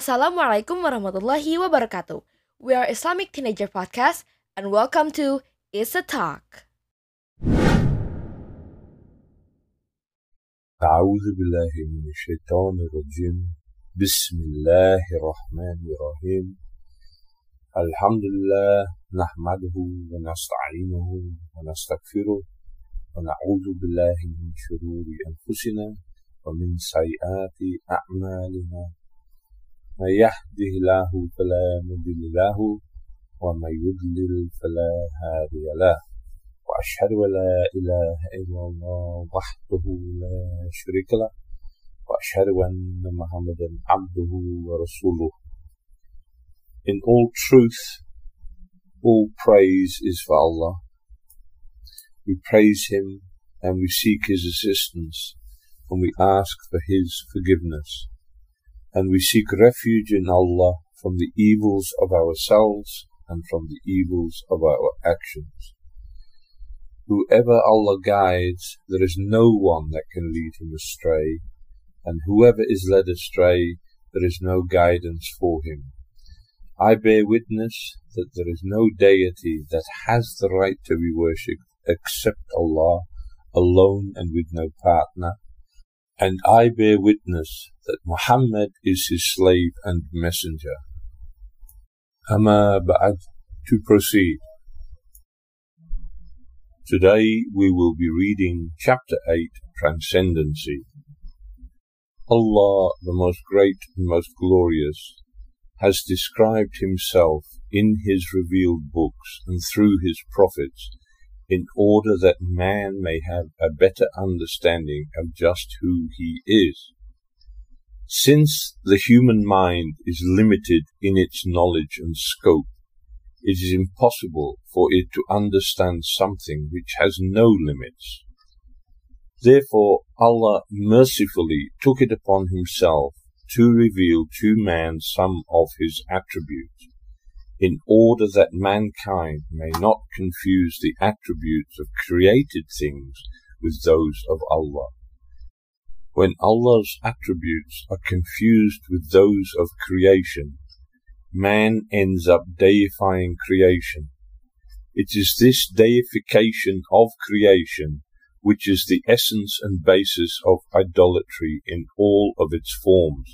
Assalamualaikum warahmatullahi wabarakatuh. We are Islamic Teenager Podcast and welcome to It's a Talk. أعوذ بالله من الشيطان الرجيم بسم الله الرحمن الرحيم الحمد لله نحمده ونستعينه ونستغفره ونعوذ بالله من شرور أنفسنا ومن سيئات أعمالنا من يهده الله فلا مضل له ومن يضلل فلا هادي له وأشهد أن لا إله إلا الله وحده لا شريك له وأشهد أن محمدا عبده ورسوله. In all truth, all praise is for Allah. We praise Him and we seek His assistance and we ask for His forgiveness. And we seek refuge in Allah from the evils of ourselves and from the evils of our actions. Whoever Allah guides, there is no one that can lead him astray, and whoever is led astray, there is no guidance for him. I bear witness that there is no deity that has the right to be worshipped except Allah, alone and with no partner. And I bear witness that Muhammad is his slave and messenger. Amma ba'ad, to proceed. Today we will be reading Chapter 8, Transcendency. Allah, the most great and most glorious, has described Himself in His revealed books and through His prophets in order that man may have a better understanding of just who he is. Since the human mind is limited in its knowledge and scope, it is impossible for it to understand something which has no limits. Therefore, Allah mercifully took it upon Himself to reveal to man some of His attributes, in order that mankind may not confuse the attributes of created things with those of Allah. When Allah's attributes are confused with those of creation, man ends up deifying creation. It is this deification of creation which is the essence and basis of idolatry in all of its forms.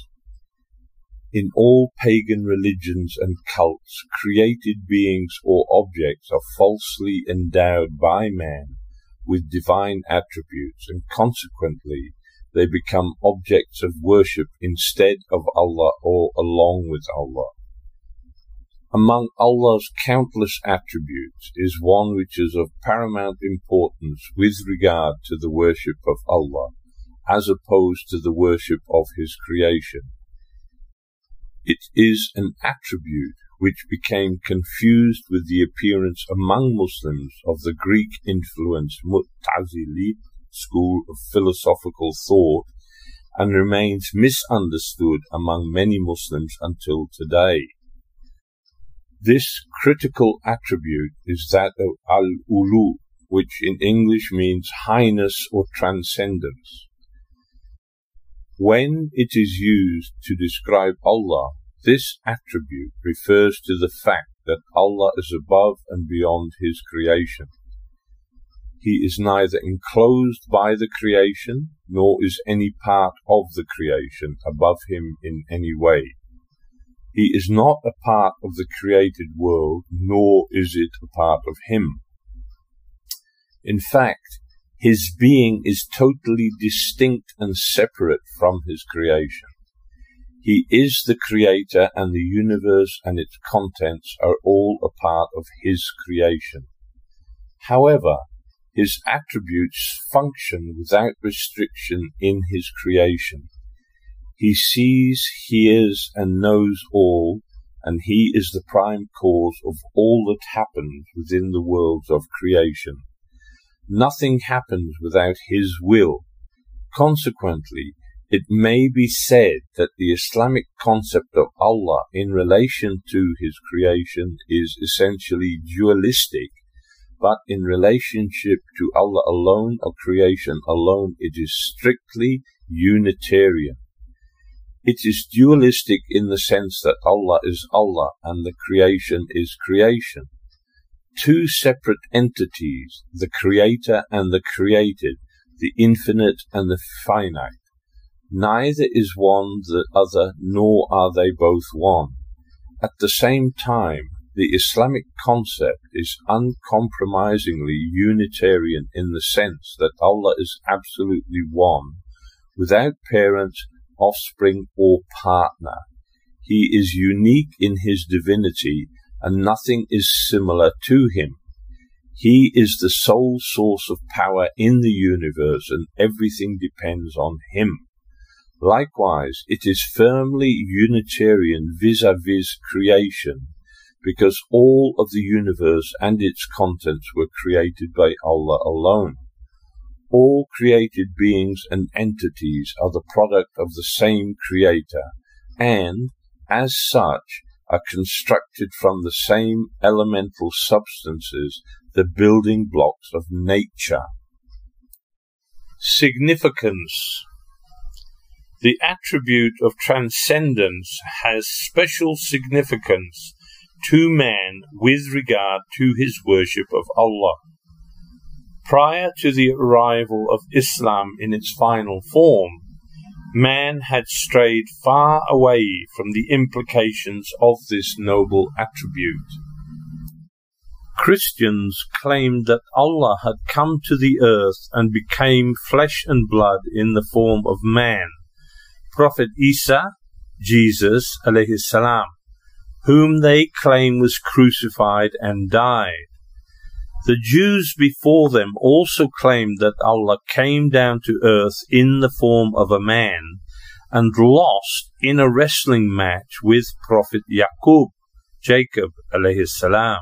In all pagan religions and cults, created beings or objects are falsely endowed by man with divine attributes, and consequently they become objects of worship instead of Allah or along with Allah. Among Allah's countless attributes is one which is of paramount importance with regard to the worship of Allah, as opposed to the worship of His creation. It is an attribute which became confused with the appearance among Muslims of the Greek-influenced Mu'tazili school of philosophical thought and remains misunderstood among many Muslims until today. This critical attribute is that of al-ulu, which in English means highness or transcendence. When it is used to describe Allah, this attribute refers to the fact that Allah is above and beyond His creation. He is neither enclosed by the creation, nor is any part of the creation above Him in any way. He is not a part of the created world, nor is it a part of Him. In fact, His being is totally distinct and separate from His creation. He is the Creator, and the universe and its contents are all a part of His creation. However, His attributes function without restriction in His creation. He sees, hears, and knows all, and He is the prime cause of all that happens within the worlds of creation. Nothing happens without His will. Consequently, it may be said that the Islamic concept of Allah in relation to His creation is essentially dualistic, but in relationship to Allah alone or creation alone, it is strictly Unitarian. It is dualistic in the sense that Allah is Allah and the creation is creation. Two separate entities, the creator and the created, the infinite and the finite. Neither is one the other, nor are they both one. At the same time, the Islamic concept is uncompromisingly Unitarian in the sense that Allah is absolutely one, without parent, offspring, or partner. He is unique in his divinity, and nothing is similar to him. He is the sole source of power in the universe, and everything depends on him. Likewise, it is firmly Unitarian vis-à-vis creation, because all of the universe and its contents were created by Allah alone. All created beings and entities are the product of the same creator, and, as such, are constructed from the same elemental substances, the building blocks of nature. Significance. The attribute of transcendence has special significance to man with regard to his worship of Allah. Prior to the arrival of Islam in its final form, man had strayed far away from the implications of this noble attribute. Christians claimed that Allah had come to the earth and became flesh and blood in the form of man, Prophet Isa, Jesus, alayhi salam, whom they claim was crucified and died. The Jews before them also claimed that Allah came down to earth in the form of a man and lost in a wrestling match with Prophet Jacob alayhi salam.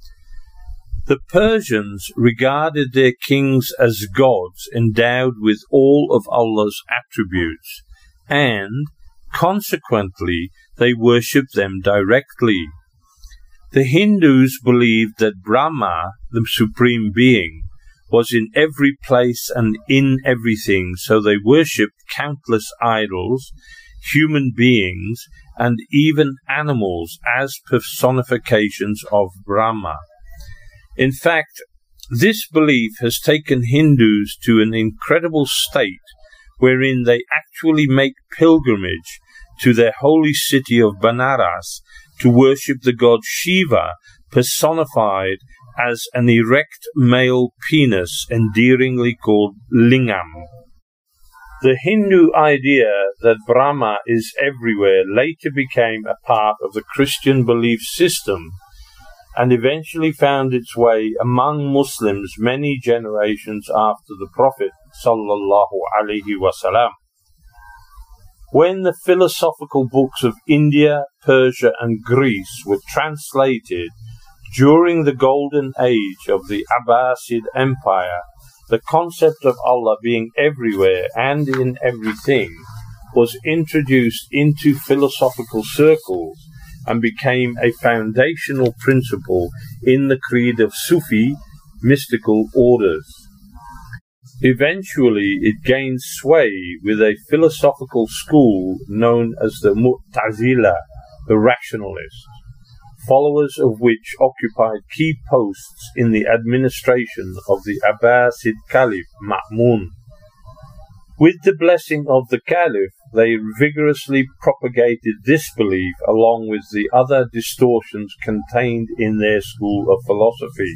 The Persians regarded their kings as gods endowed with all of Allah's attributes, and, consequently, they worshipped them directly. The Hindus believed that Brahma, the Supreme Being, was in every place and in everything, so they worshipped countless idols, human beings, and even animals as personifications of Brahma. In fact, this belief has taken Hindus to an incredible state wherein they actually make pilgrimage to their holy city of Banaras to worship the god Shiva, personified as an erect male penis endearingly called Lingam. The Hindu idea that Brahma is everywhere later became a part of the Christian belief system and eventually found its way among Muslims many generations after the Prophet sallallahu alaihi wasallam. When the philosophical books of India, Persia, and Greece were translated during the golden age of the Abbasid Empire, the concept of Allah being everywhere and in everything was introduced into philosophical circles and became a foundational principle in the creed of Sufi mystical orders. Eventually, it gained sway with a philosophical school known as the Mu'tazila, the rationalists, followers of which occupied key posts in the administration of the Abbasid Caliph Ma'mun. With the blessing of the Caliph, they vigorously propagated this belief along with the other distortions contained in their school of philosophy.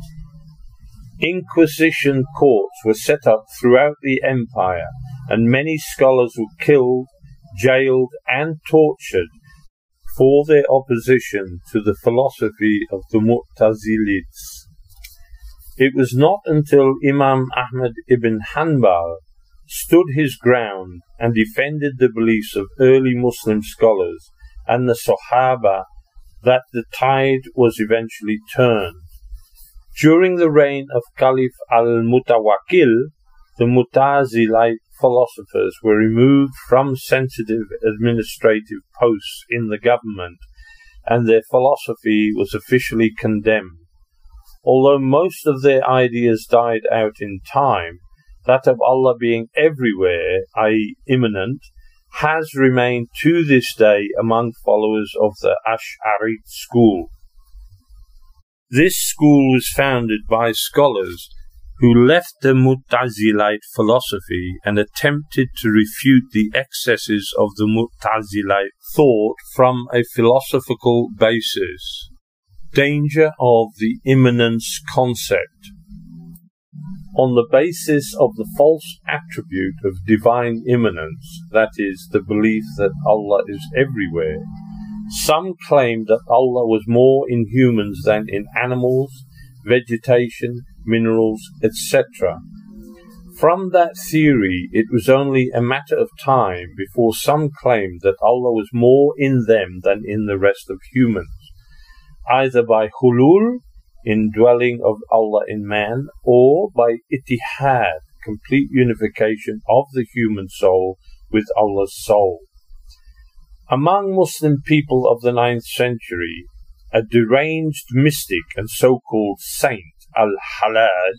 Inquisition courts were set up throughout the empire, and many scholars were killed, jailed, and tortured for their opposition to the philosophy of the Mu'tazilites. It was not until Imam Ahmad ibn Hanbal stood his ground and defended the beliefs of early Muslim scholars and the Sahaba that the tide was eventually turned. During the reign of Caliph al-Mutawakkil, the Mu'tazilite philosophers were removed from sensitive administrative posts in the government, and their philosophy was officially condemned. Although most of their ideas died out in time, that of Allah being everywhere, i.e. immanent, has remained to this day among followers of the Ash'ari school. This school was founded by scholars who left the Mu'tazilite philosophy and attempted to refute the excesses of the Mu'tazilite thought from a philosophical basis. Danger of the immanence concept. On the basis of the false attribute of divine immanence, that is, the belief that Allah is everywhere, some claimed that Allah was more in humans than in animals, vegetation, minerals, etc. From that theory, it was only a matter of time before some claimed that Allah was more in them than in the rest of humans, either by hulul, indwelling of Allah in man, or by ittihad, complete unification of the human soul with Allah's soul. Among Muslim people of the 9th century, a deranged mystic and so-called saint, Al-Hallaj,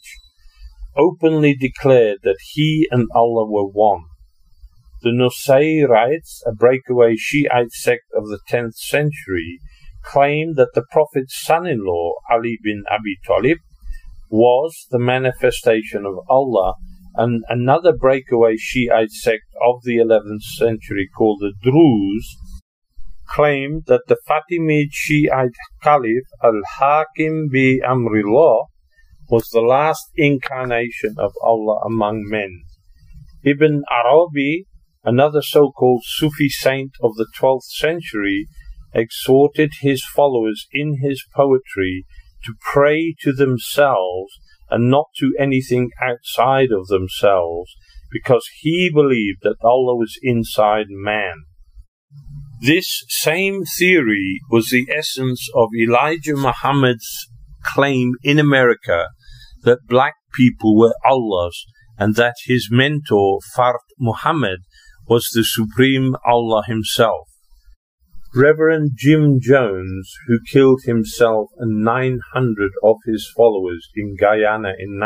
openly declared that he and Allah were one. The Nusayrites, a breakaway Shiite sect of the 10th century, claimed that the Prophet's son-in-law, Ali bin Abi Talib, was the manifestation of Allah, and another breakaway Shiite sect of the 11th century called the Druze claimed that the Fatimid Shiite Caliph Al-Hakim bi Amrillah was the last incarnation of Allah among men. Ibn Arabi, another so-called Sufi saint of the 12th century, exhorted his followers in his poetry to pray to themselves and not to anything outside of themselves, because he believed that Allah was inside man. This same theory was the essence of Elijah Muhammad's claim in America that black people were Allah's and that his mentor, Fard Muhammad, was the supreme Allah himself. Reverend Jim Jones, who killed himself and 900 of his followers in Guyana in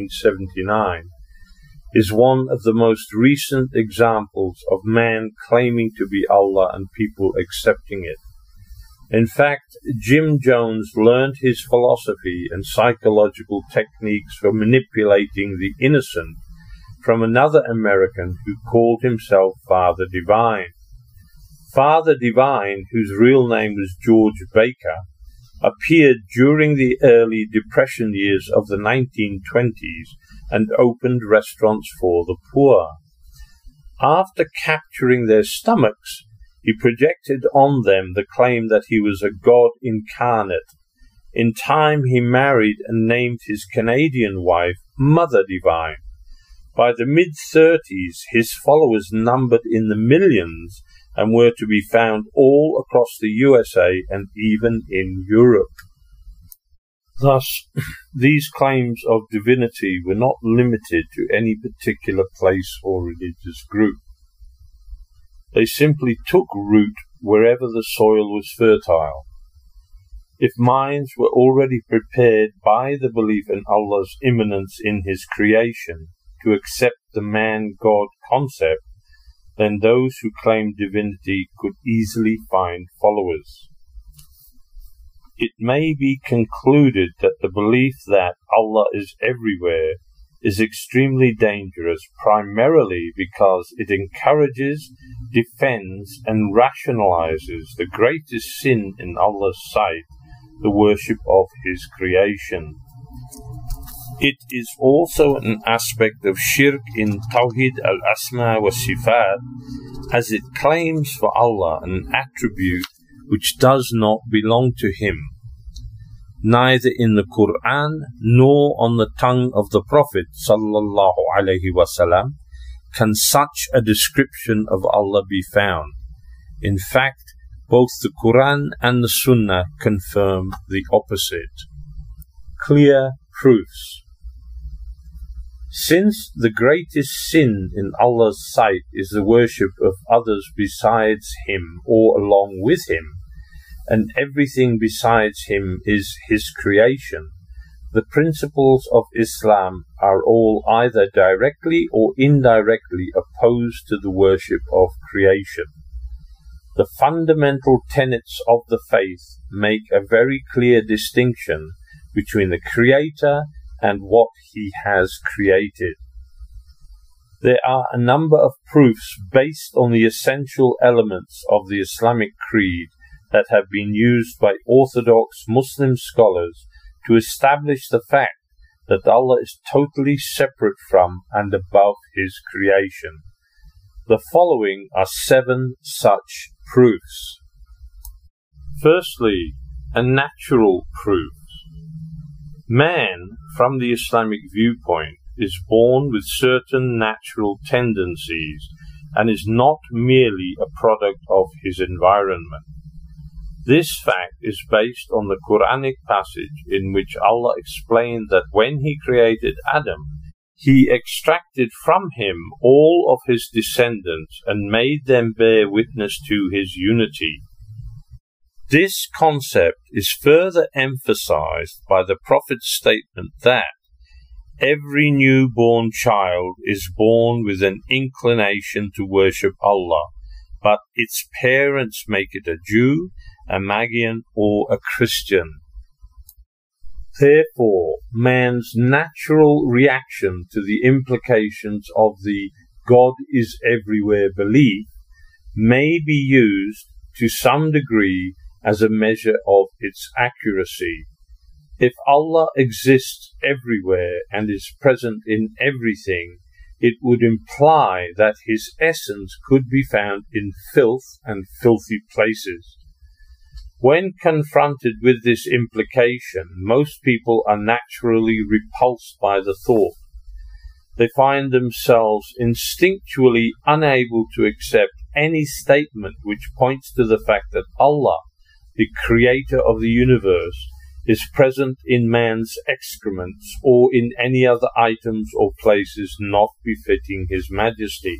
1979, is one of the most recent examples of man claiming to be Allah and people accepting it. In fact, Jim Jones learned his philosophy and psychological techniques for manipulating the innocent from another American who called himself Father Divine. Father Divine, whose real name was George Baker, appeared during the early Depression years of the 1920s and opened restaurants for the poor. After capturing their stomachs, he projected on them the claim that he was a god incarnate. In time he married and named his Canadian wife Mother Divine. By the mid-30s, his followers numbered in the millions and were to be found all across the USA and even in Europe. Thus, these claims of divinity were not limited to any particular place or religious group. They simply took root wherever the soil was fertile. If minds were already prepared by the belief in Allah's immanence in His creation to accept the man-God concept, then those who claimed divinity could easily find followers. It may be concluded that the belief that Allah is everywhere is extremely dangerous, primarily because it encourages, defends, and rationalizes the greatest sin in Allah's sight, the worship of His creation. It is also an aspect of shirk in Tawhid al-Asma wa Sifat, as it claims for Allah an attribute which does not belong to Him. Neither in the Quran nor on the tongue of the Prophet sallallahu alaihi wasallam can such a description of Allah be found. In fact, both the Quran and the Sunnah confirm the opposite. Clear proofs. Since the greatest sin in Allah's sight is the worship of others besides Him or along with Him, and everything besides Him is His creation, the principles of Islam are all either directly or indirectly opposed to the worship of creation. The fundamental tenets of the faith make a very clear distinction between the Creator and what He has created. There are a number of proofs based on the essential elements of the Islamic creed that have been used by Orthodox Muslim scholars to establish the fact that Allah is totally separate from and above His creation. The following are 7 such proofs. Firstly, a natural proof. Man, from the Islamic viewpoint, is born with certain natural tendencies and is not merely a product of his environment. This fact is based on the Quranic passage in which Allah explained that when He created Adam, He extracted from him all of his descendants and made them bear witness to His unity. This concept is further emphasized by the Prophet's statement that every newborn child is born with an inclination to worship Allah, but its parents make it a Jew, a Magian, or a Christian. Therefore, man's natural reaction to the implications of the God is everywhere belief may be used to some degree as a measure of its accuracy. If Allah exists everywhere and is present in everything, it would imply that His essence could be found in filth and filthy places. When confronted with this implication, most people are naturally repulsed by the thought. They find themselves instinctually unable to accept any statement which points to the fact that Allah, the creator of the universe, is present in man's excrements or in any other items or places not befitting His majesty.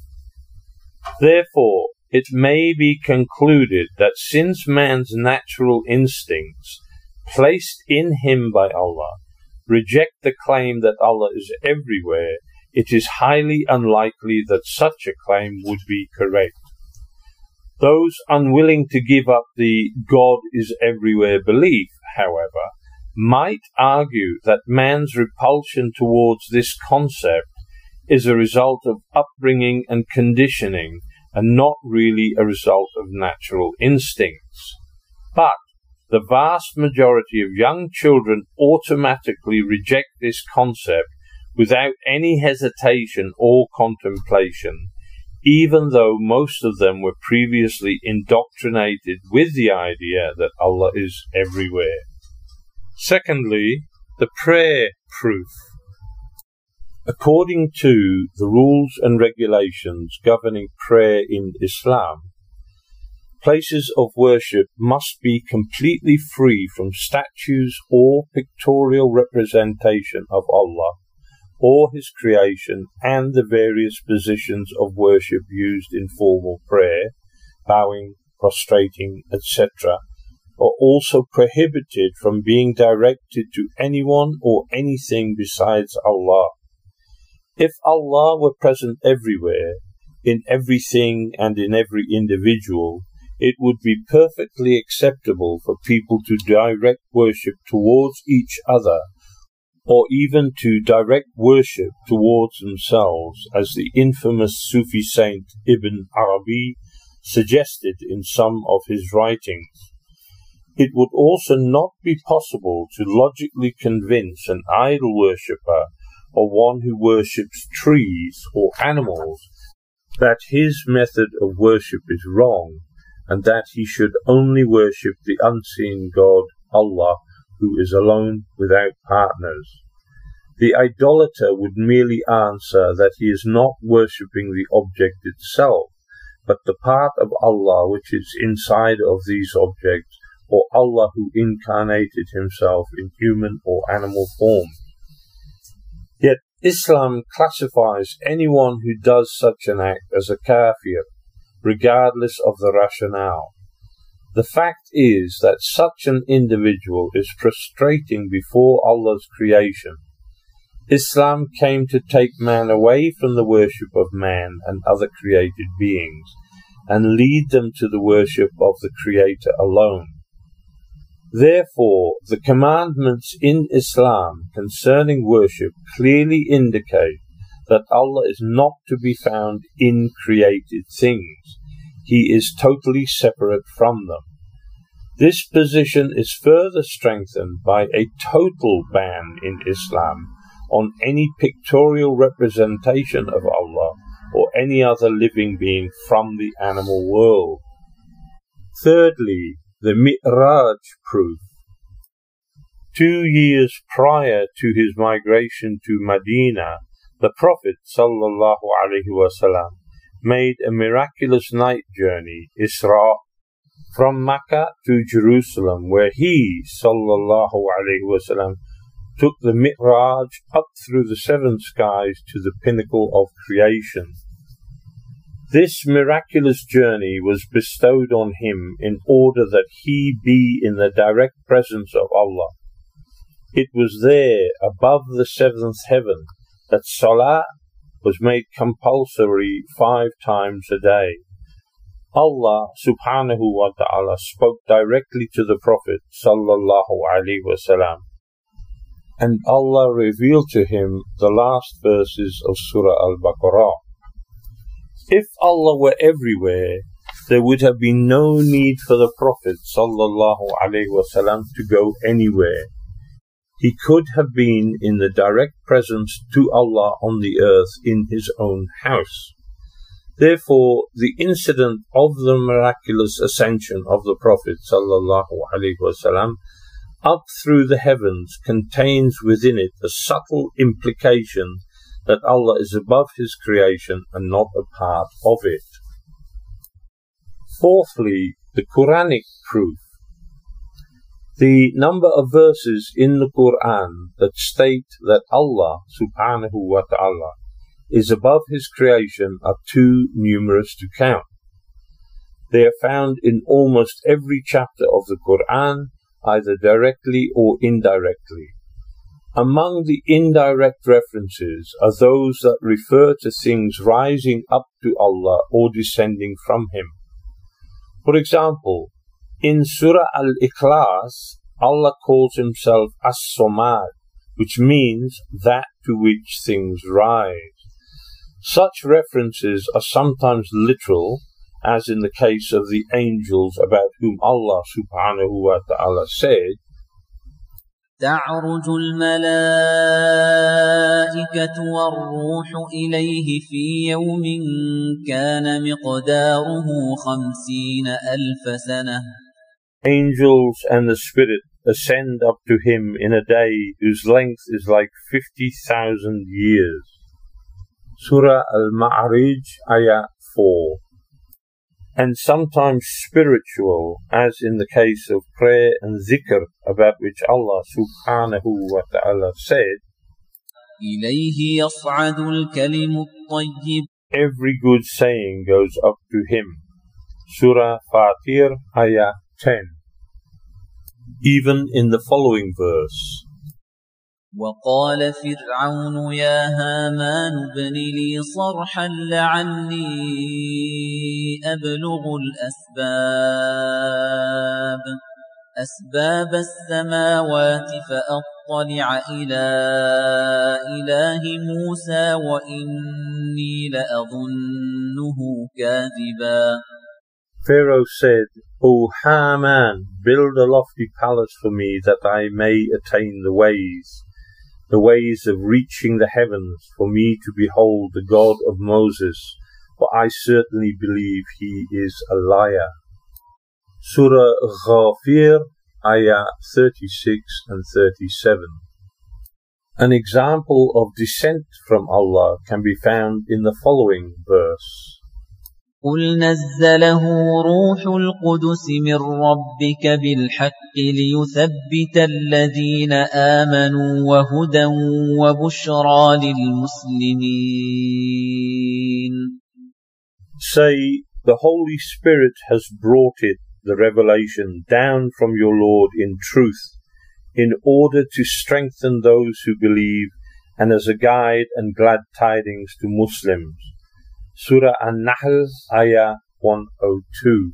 Therefore, it may be concluded that since man's natural instincts, placed in him by Allah, reject the claim that Allah is everywhere, it is highly unlikely that such a claim would be correct. Those unwilling to give up the God is everywhere belief, however, might argue that man's repulsion towards this concept is a result of upbringing and conditioning, and not really a result of natural instincts. But the vast majority of young children automatically reject this concept without any hesitation or contemplation, even though most of them were previously indoctrinated with the idea that Allah is everywhere. Secondly, the prayer proof. According to the rules and regulations governing prayer in Islam, places of worship must be completely free from statues or pictorial representation of Allah or His creation, and the various positions of worship used in formal prayer, bowing, prostrating, etc., are also prohibited from being directed to anyone or anything besides Allah. If Allah were present everywhere, in everything and in every individual, it would be perfectly acceptable for people to direct worship towards each other, or even to direct worship towards themselves, as the infamous Sufi saint Ibn Arabi suggested in some of his writings. It would also not be possible to logically convince an idol worshipper or one who worships trees or animals that his method of worship is wrong, and that he should only worship the unseen God, Allah, who is alone without partners. The idolater would merely answer that he is not worshipping the object itself, but the part of Allah which is inside of these objects, or Allah who incarnated Himself in human or animal form. Yet Islam classifies anyone who does such an act as a kafir, regardless of the rationale. The fact is that such an individual is prostrating before Allah's creation. Islam came to take man away from the worship of man and other created beings and lead them to the worship of the Creator alone. Therefore, the commandments in Islam concerning worship clearly indicate that Allah is not to be found in created things. He is totally separate from them. This position is further strengthened by a total ban in Islam on any pictorial representation of Allah or any other living being from the animal world. Thirdly, the Mi'raj proof. 2 years prior to his migration to Medina, the Prophet ﷺ made a miraculous night journey, Isra, from Mecca to Jerusalem, where he ﷺ took the Mi'raj up through the 7 skies to the pinnacle of creation. This miraculous journey was bestowed on him in order that he be in the direct presence of Allah. It was there, above the 7th heaven, that Salah was made compulsory 5 times a day. Allah subhanahu wa ta'ala spoke directly to the Prophet sallallahu alaihi wasallam, and Allah revealed to him the last verses of Surah Al-Baqarah. If Allah were everywhere, there would have been no need for the Prophet sallallahu alaihi wasallam to go anywhere. He could have been in the direct presence to Allah on the earth in his own house. Therefore, the incident of the miraculous ascension of the Prophet sallallahu alaihi wasallam up through the heavens contains within it a subtle implication that Allah is above His creation and not a part of it. Fourthly, the Quranic proof. The number of verses in the Quran that state that Allah subhanahu wa ta'ala is above His creation are too numerous to count. They are found in almost every chapter of the Quran, either directly or indirectly. Among the indirect references are those that refer to things rising up to Allah or descending from Him. For example, in Surah Al-Ikhlas, Allah calls Himself As-Samad, which means that to which things rise. Such references are sometimes literal, as in the case of the angels about whom Allah subhanahu wa ta'ala said, تعرج الملائكة والروح إليه في يوم كان مقداره 50,000 سنة. Angels and the Spirit ascend up to Him in a day whose length is like 50,000 years. Surah Al-Ma'arij, Ayah 4. And sometimes spiritual, as in the case of prayer and zikr, about which Allah subhanahu wa ta'ala said, إليه يصعد الكلم الطيب. Every good saying goes up to Him. Surah Fatir, Ayah 10. Even in the following verse, وقال فرعون يا هامان ابن لي صرحا لعلي أبلغ أسباب السماوات فأطلع إلى إله موسى وإني لأظنه كاذبا. Pharaoh said, O Haman, build a lofty palace for me that I may attain the ways of reaching the heavens, for me to behold the God of Moses, for I certainly believe he is a liar. Surah Ghafir, Ayah 36 and 37. An example of descent from Allah can be found in the following verse. قُلْ نَزَّلَهُ رُوحُ الْقُدُسِ مِنْ رَبِّكَ بِالْحَقِّ لِيُثَبِّتَ الَّذِينَ آمَنُوا وَهُدًى وَبُشْرَى لِلْمُسْلِمِينَ. Say, the Holy Spirit has brought it the revelation down from your Lord in truth, in order to strengthen those who believe and as a guide and glad tidings to Muslims. Surah An-Nahl, Ayah 102.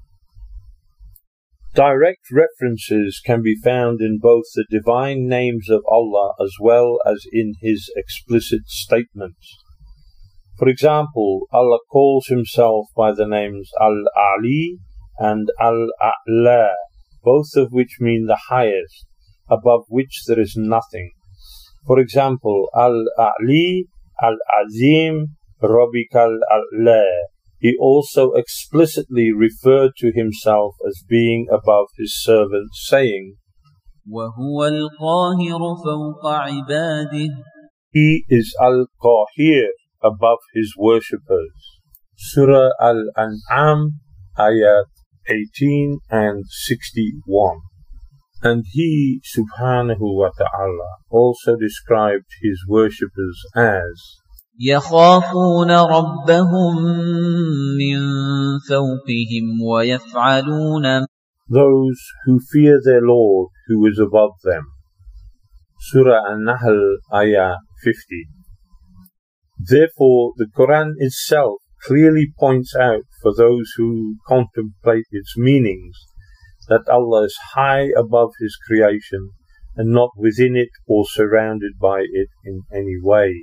Direct references can be found in both the divine names of Allah as well as in His explicit statements. For example, Allah calls Himself by the names Al-Ali and Al-A'la, both of which mean the highest, above which there is nothing. For example, Al-Ali, Al-Azim, Rabbikal A'la. He also explicitly referred to Himself as being above His servants, saying, وَهُوَ الْقَاهِرُ فَوْقَ عِبَادِهِ. He is Al-Qahir, above His worshippers. Surah Al-An'am, Ayat 18 and 61. And He, subhanahu wa ta'ala, also described His worshippers as يَخَافُونَ رَبَّهُم مِّن فَوْقِهِمْ وَيَفْعَلُونَ those who fear their Lord who is above them. Surah An-Nahl, Ayah 50. Therefore, the Quran itself clearly points out for those who contemplate its meanings that Allah is high above His creation and not within it or surrounded by it in any way.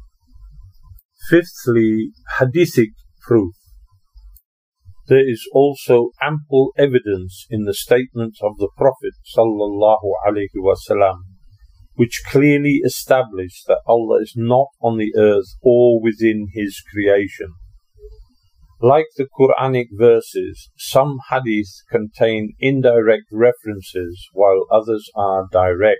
Fifthly, hadithic proof. There is also ample evidence in the statements of the Prophet sallallahu alaihi wasallam, which clearly establish that Allah is not on the earth or within His creation. Like the Quranic verses, some hadith contain indirect references while others are direct.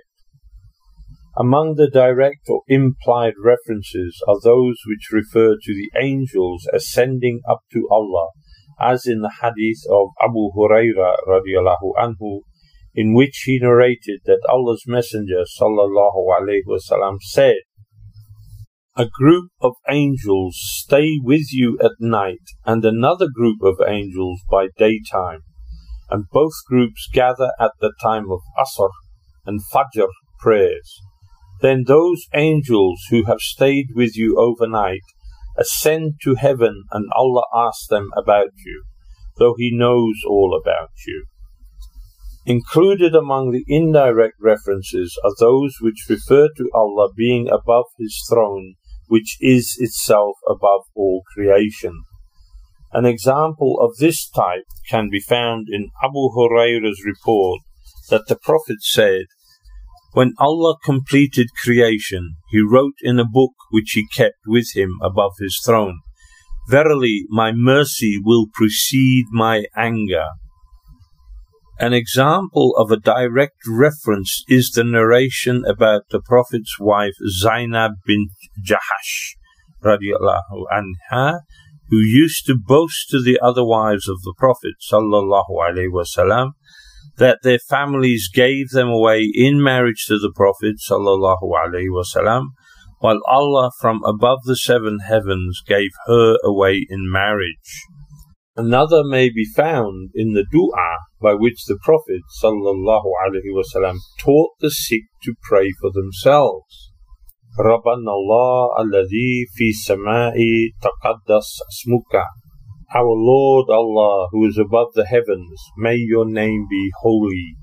Among the direct or implied references are those which refer to the angels ascending up to Allah, as in the hadith of Abu Hurairah radiallahu anhu, in which he narrated that Allah's Messenger sallallahu alaihi wasallam said, "A group of angels stay with you at night and another group of angels by daytime, and both groups gather at the time of Asr and Fajr prayers. Then those angels who have stayed with you overnight ascend to heaven and Allah asks them about you, though He knows all about you." Included among the indirect references are those which refer to Allah being above His throne, which is itself above all creation. An example of this type can be found in Abu Hurairah's report that the Prophet said, "When Allah completed creation, He wrote in a book which He kept with Him above His throne, 'Verily, my mercy will precede my anger.'" An example of a direct reference is the narration about the Prophet's wife Zainab bint Jahash radiallahu anha, who used to boast to the other wives of the Prophet sallallahu alaihi wasallam that their families gave them away in marriage to the Prophet sallallahu alaihi wasallam, while Allah from above the seven heavens gave her away in marriage. Another may be found in the dua by which the Prophet sallallahu alaihi wasallam taught the sick to pray for themselves. Rabbana Allah alladhi fi samai taqaddas asmuka. Our Lord Allah, who is above the heavens, may your name be holy.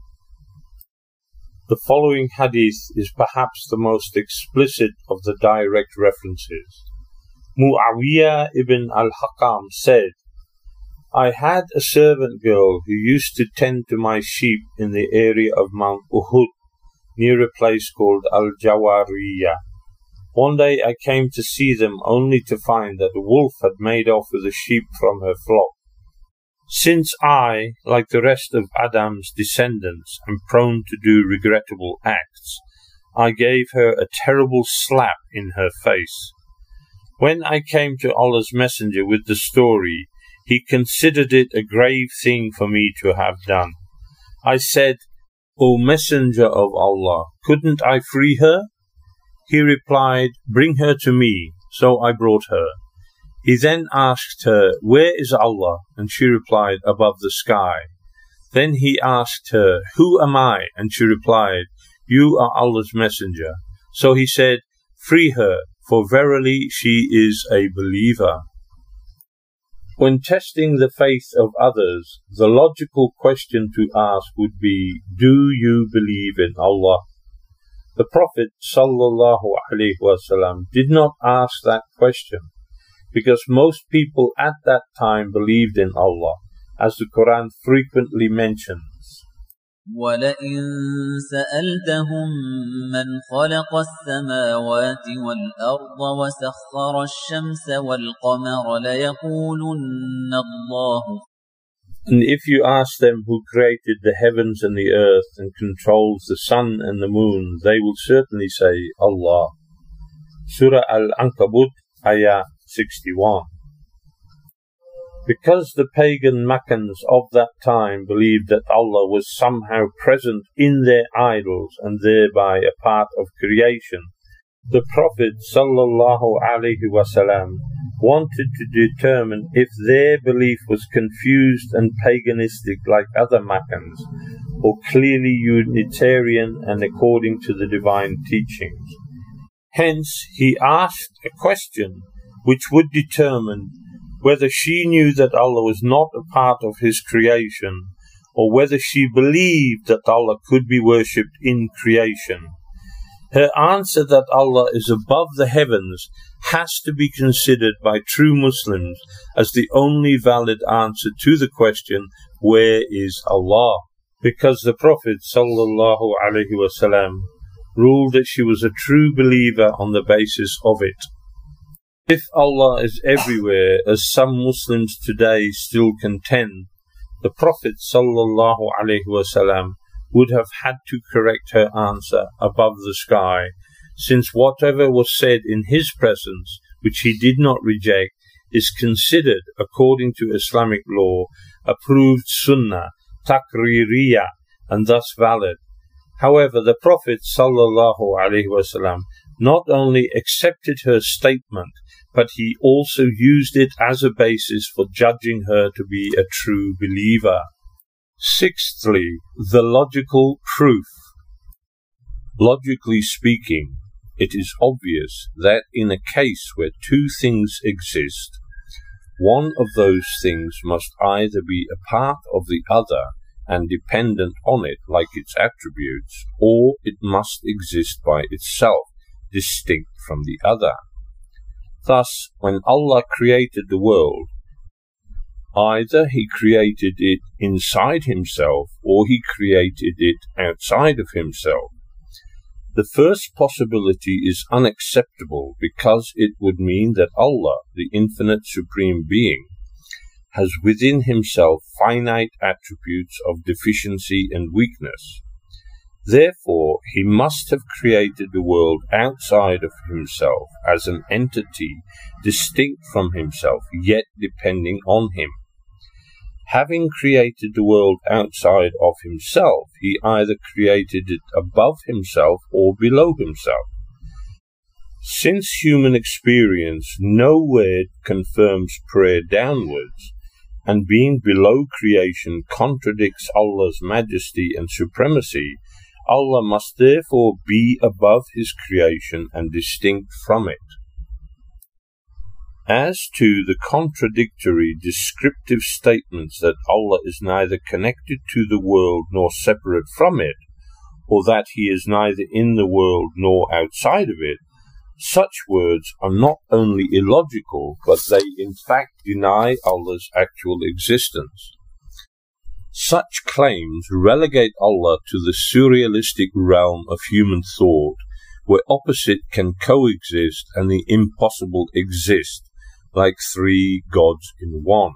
The following hadith is perhaps the most explicit of the direct references. Muawiyah ibn al-Hakam said, "I had a servant girl who used to tend to my sheep in the area of Mount Uhud, near a place called Al-Jawariyah. One day I came to see them only to find that a wolf had made off with a sheep from her flock. Since I, like the rest of Adam's descendants, am prone to do regrettable acts, I gave her a terrible slap in her face. When I came to Allah's Messenger with the story, He considered it a grave thing for me to have done. I said, 'O Messenger of Allah, couldn't I free her?' He replied, 'Bring her to me.' So I brought her. He then asked her, 'Where is Allah?' And she replied, 'Above the sky.' Then he asked her, "Who am I?" And she replied, "You are Allah's messenger." So he said, "Free her, for verily she is a believer." When testing the faith of others, the logical question to ask would be, do you believe in Allah? The Prophet ﷺ did not ask that question, because most people at that time believed in Allah, as the Quran frequently mentions. وَلَئِن سَأَلْتَهُم مَّنْ خَلَقَ السَّمَاوَاتِ وَالْأَرْضَ وَسَخَّرَ الشَّمْسَ وَالْقَمَرَ لَيَقُولُنَّ اللَّهُ. And if you ask them who created the heavens and the earth and controls the sun and the moon, they will certainly say, Allah. Surah Al-Ankabut, Ayah 61. Because the pagan Meccans of that time believed that Allah was somehow present in their idols and thereby a part of creation, the Prophet ﷺ wanted to determine if their belief was confused and paganistic like other Meccans, or clearly Unitarian and according to the divine teachings. Hence, he asked a question which would determine whether she knew that Allah was not a part of His creation, or whether she believed that Allah could be worshipped in creation. Her answer that Allah is above the heavens has to be considered by true Muslims as the only valid answer to the question, where is Allah? Because the Prophet ﷺ ruled that she was a true believer on the basis of it. If Allah is everywhere, as some Muslims today still contend, the Prophet ﷺ would have had to correct her answer above the sky, since whatever was said in his presence, which he did not reject, is considered, according to Islamic law, approved sunnah, taqririyah, and thus valid. However, the Prophet ﷺ not only accepted her statement, but he also used it as a basis for judging her to be a true believer. Sixthly, the logical proof. Logically speaking, it is obvious that in a case where two things exist, one of those things must either be a part of the other and dependent on it like its attributes, or it must exist by itself, distinct from the other. Thus, when Allah created the world, either He created it inside Himself or He created it outside of Himself. The first possibility is unacceptable because it would mean that Allah, the infinite supreme being, has within Himself finite attributes of deficiency and weakness. Therefore, He must have created the world outside of Himself as an entity distinct from Himself, yet depending on Him. Having created the world outside of Himself, He either created it above Himself or below Himself. Since human experience nowhere confirms prayer downwards, and being below creation contradicts Allah's majesty and supremacy, Allah must therefore be above His creation and distinct from it. As to the contradictory descriptive statements that Allah is neither connected to the world nor separate from it, or that He is neither in the world nor outside of it, such words are not only illogical, but they in fact deny Allah's actual existence. Such claims relegate Allah to the surrealistic realm of human thought, where opposite can coexist and the impossible exist, like three gods in one.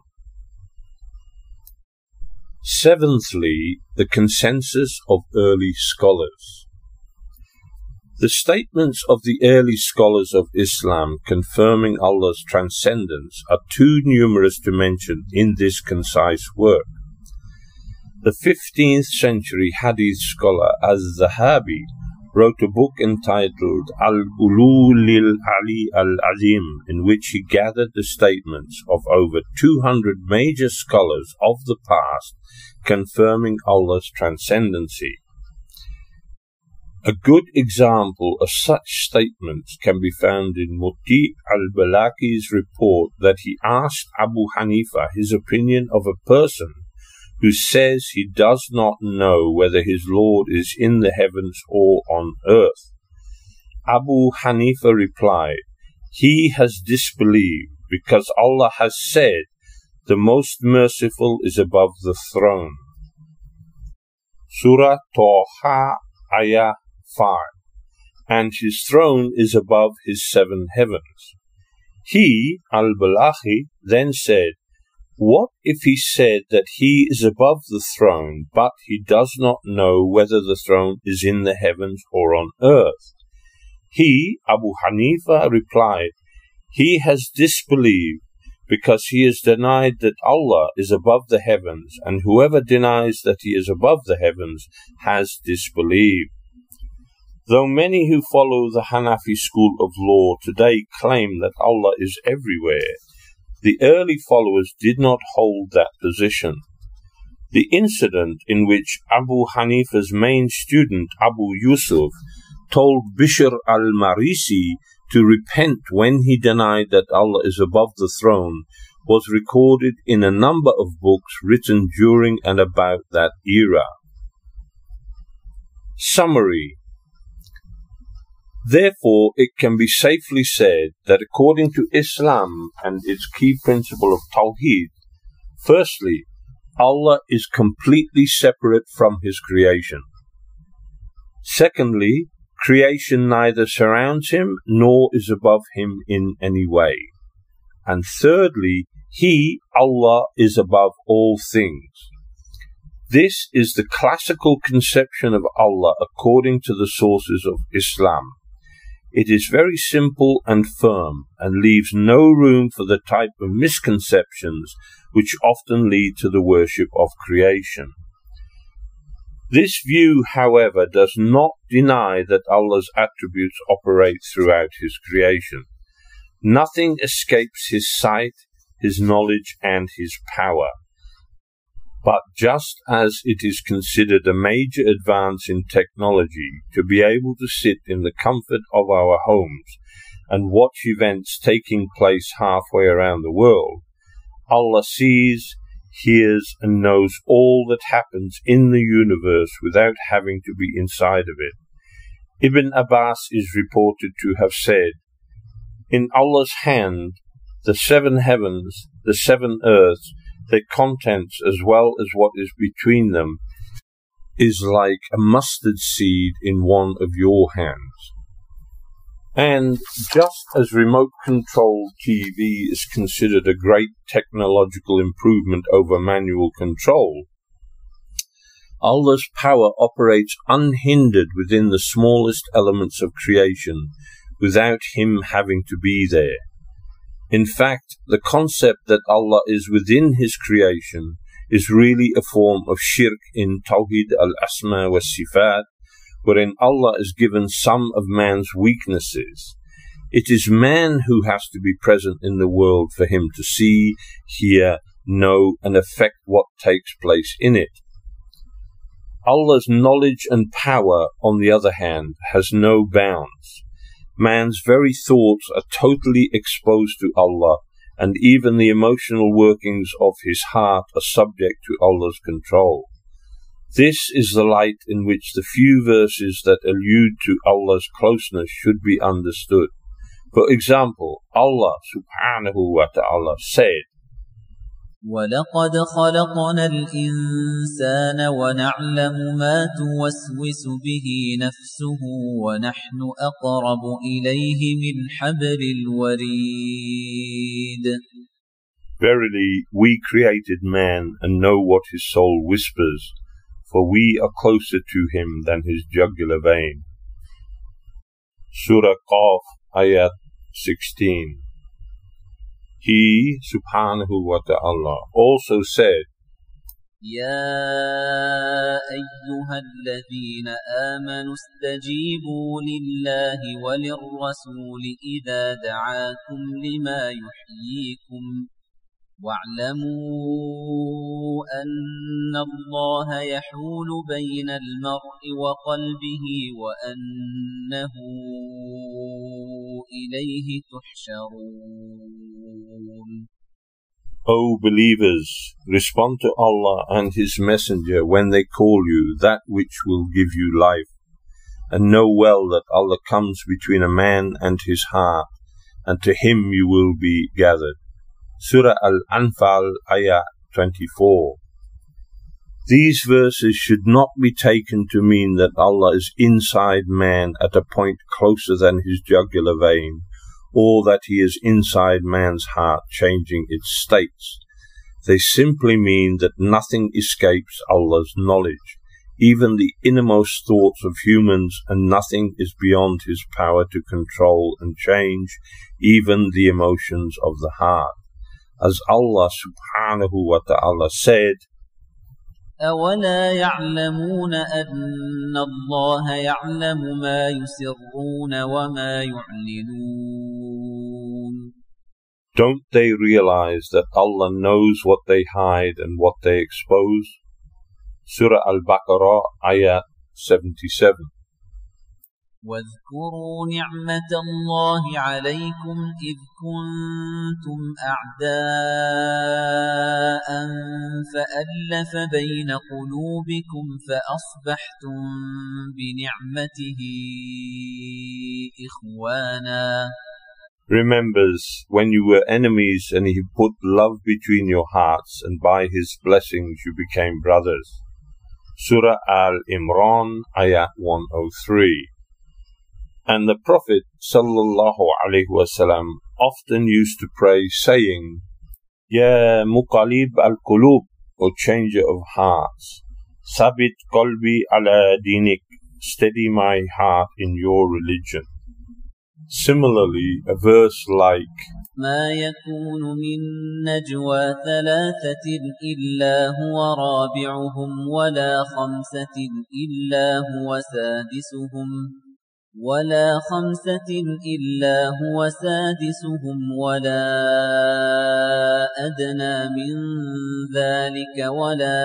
Seventhly, the consensus of early scholars. The statements of the early scholars of Islam confirming Allah's transcendence are too numerous to mention in this concise work. The 15th century Hadith scholar Az-Zahabi wrote a book entitled Al-Ulul Ali Al-Azim, in which he gathered the statements of over 200 major scholars of the past confirming Allah's transcendency. A good example of such statements can be found in Muti al-Balaki's report that he asked Abu Hanifa his opinion of a person who says he does not know whether his Lord is in the heavens or on earth. Abu Hanifa replied, "He has disbelieved because Allah has said, 'The Most Merciful is above the throne.'" Surah Taha, Ayah 5. And his throne is above his 7 heavens. He, al-Balakhi, then said, "What if he said that he is above the throne, but he does not know whether the throne is in the heavens or on earth?" He, Abu Hanifa, replied, "He has disbelieved because he has denied that Allah is above the heavens, and whoever denies that he is above the heavens has disbelieved." Though many who follow the Hanafi school of law today claim that Allah is everywhere, the early followers did not hold that position. The incident in which Abu Hanifa's main student, Abu Yusuf, told Bishr al-Marisi to repent when he denied that Allah is above the throne was recorded in a number of books written during and about that era. Summary. Therefore, it can be safely said that according to Islam and its key principle of Tawheed, firstly, Allah is completely separate from His creation. Secondly, creation neither surrounds Him nor is above Him in any way. And thirdly, He, Allah, is above all things. This is the classical conception of Allah according to the sources of Islam. It is very simple and firm, and leaves no room for the type of misconceptions which often lead to the worship of creation. This view, however, does not deny that Allah's attributes operate throughout His creation. Nothing escapes His sight, His knowledge, and His power. But just as it is considered a major advance in technology to be able to sit in the comfort of our homes and watch events taking place halfway around the world, Allah sees, hears, and knows all that happens in the universe without having to be inside of it. Ibn Abbas is reported to have said, "In Allah's hand, the 7 heavens, the 7 earths, their contents as well as what is between them, is like a mustard seed in one of your hands." And just as remote-controlled TV is considered a great technological improvement over manual control, Allah's power operates unhindered within the smallest elements of creation, without Him having to be there. In fact, the concept that Allah is within His creation is really a form of shirk in Tawheed al-Asma wa Sifat, wherein Allah is given some of man's weaknesses. It is man who has to be present in the world for him to see, hear, know, and affect what takes place in it. Allah's knowledge and power, on the other hand, has no bounds. Man's very thoughts are totally exposed to Allah, and even the emotional workings of his heart are subject to Allah's control. This is the light in which the few verses that allude to Allah's closeness should be understood. For example, Allah subhanahu wa ta'ala said, وَلَقَدْ خَلَقْنَا الْإِنسَانَ وَنَعْلَمُ مَا تُوَسْوِسُ بِهِ نَفْسُهُ وَنَحْنُ أَقْرَبُ إِلَيْهِ مِنْ حَبْلِ الْوَرِيدِ. Verily, we created man and know what his soul whispers, for we are closer to him than his jugular vein. Surah Qaf, Ayat 16. He, subhanahu wa ta'ala, also said, يَا أَيُّهَا الَّذِينَ آمَنُوا اسْتَجِيبُوا لِلَّهِ وَلِلرَّسُولِ إِذَا دَعَاكُمْ لِمَا يُحْيِيكُمْ واعلموا أن الله يحول بين المرء وقلبه وأنه إليه تحشرون. O believers, respond to Allah and His Messenger when they call you that which will give you life, and know well that Allah comes between a man and his heart, and to Him you will be gathered. Surah Al-Anfal, Ayah 24. These verses should not be taken to mean that Allah is inside man at a point closer than his jugular vein, or that He is inside man's heart changing its states. They simply mean that nothing escapes Allah's knowledge, even the innermost thoughts of humans, and nothing is beyond His power to control and change, even the emotions of the heart. As Allah subhanahu wa ta'ala said, أَوَلَا يَعْلَمُونَ أَنَّ اللَّهَ يَعْلَمُ مَا يُسِرُّونَ وَمَا يُعْلِنُونَ. Don't they realize that Allah knows what they hide and what they expose? Surah Al-Baqarah, Ayah 77. واذكروا نعمة الله عليكم إذ كنتم أعداء فألف بين قلوبكم فأصبحتم بنعمته إخوانا. Remembers when you were enemies and He put love between your hearts, and by His blessings you became brothers. Surah Al-Imran, Ayah 103. And the Prophet ﷺ often used to pray, saying, Ya Muqallib al-Qulub, O changer of hearts, Sabit qalbi ala dinik, steady my heart in your religion. Similarly, a verse like, ما يكون من نجوى ثلاثة إلا هو رابعهم ولا خمسة إلا هو سادسهم ولا أدنى من ذلك ولا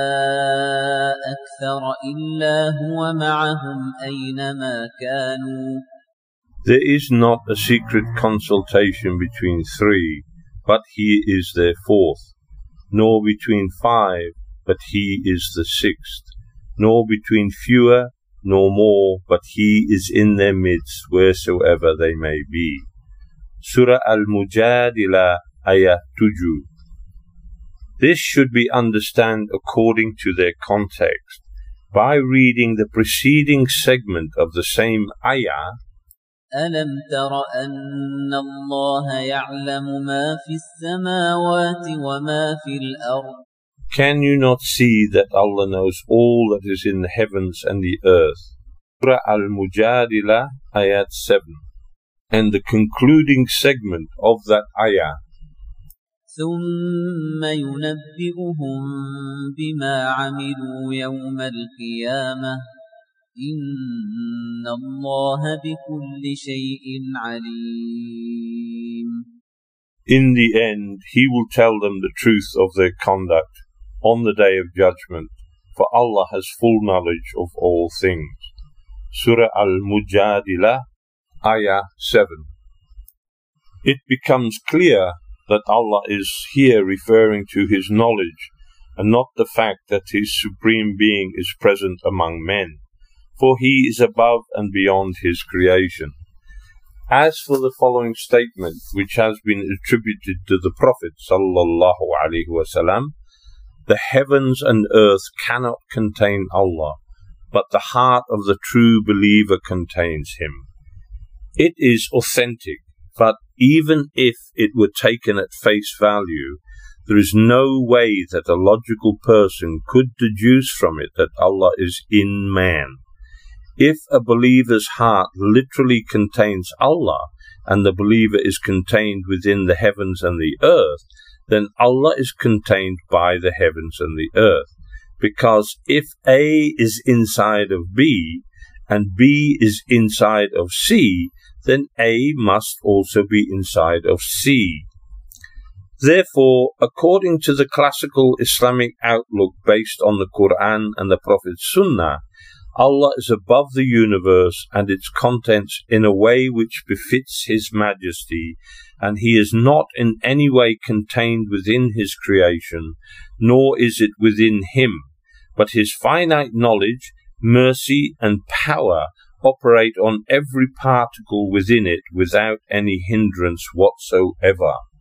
أكثر إلا هو معهم أينما كانوا. There is not a secret consultation between three, but He is their fourth, nor between five, but He is the sixth, nor between fewer, nor more, but He is in their midst wheresoever they may be. Surah Al-Mujadilah, Ayah 2. This should be understood according to their context. By reading the preceding segment of the same ayah, أَلَمْ تَرَ أَنَّ اللَّهَ يَعْلَمُ مَا فِي السَّمَاوَاتِ وَمَا فِي الْأَرْضِ. Can you not see that Allah knows all that is in the heavens and the earth? Surah Al-Mujadilah, Ayat 7. And the concluding segment of that ayah, ثُمَّ يُنَبِّئُهُم بِمَا عَمِلُوا يَوْمَ الْقِيَامَةِ إِنَّ اللَّهَ بِكُلِّ شَيْءٍ عَلِيمٌ. In the end, He will tell them the truth of their conduct on the Day of Judgment, for Allah has full knowledge of all things. Surah Al-Mujadilah, Ayah 7. It becomes clear that Allah is here referring to His knowledge, and not the fact that His Supreme Being is present among men, for He is above and beyond His creation. As for the following statement, which has been attributed to the Prophet ﷺ, the heavens and earth cannot contain Allah, but the heart of the true believer contains Him. It is authentic, but even if it were taken at face value, there is no way that a logical person could deduce from it that Allah is in man. If a believer's heart literally contains Allah, and the believer is contained within the heavens and the earth, then Allah is contained by the heavens and the earth. Because if A is inside of B, and B is inside of C, then A must also be inside of C. Therefore, according to the classical Islamic outlook based on the Quran and the Prophet's Sunnah, Allah is above the universe and its contents in a way which befits His majesty, and He is not in any way contained within His creation, nor is it within Him, but His finite knowledge, mercy, and power operate on every particle within it without any hindrance whatsoever.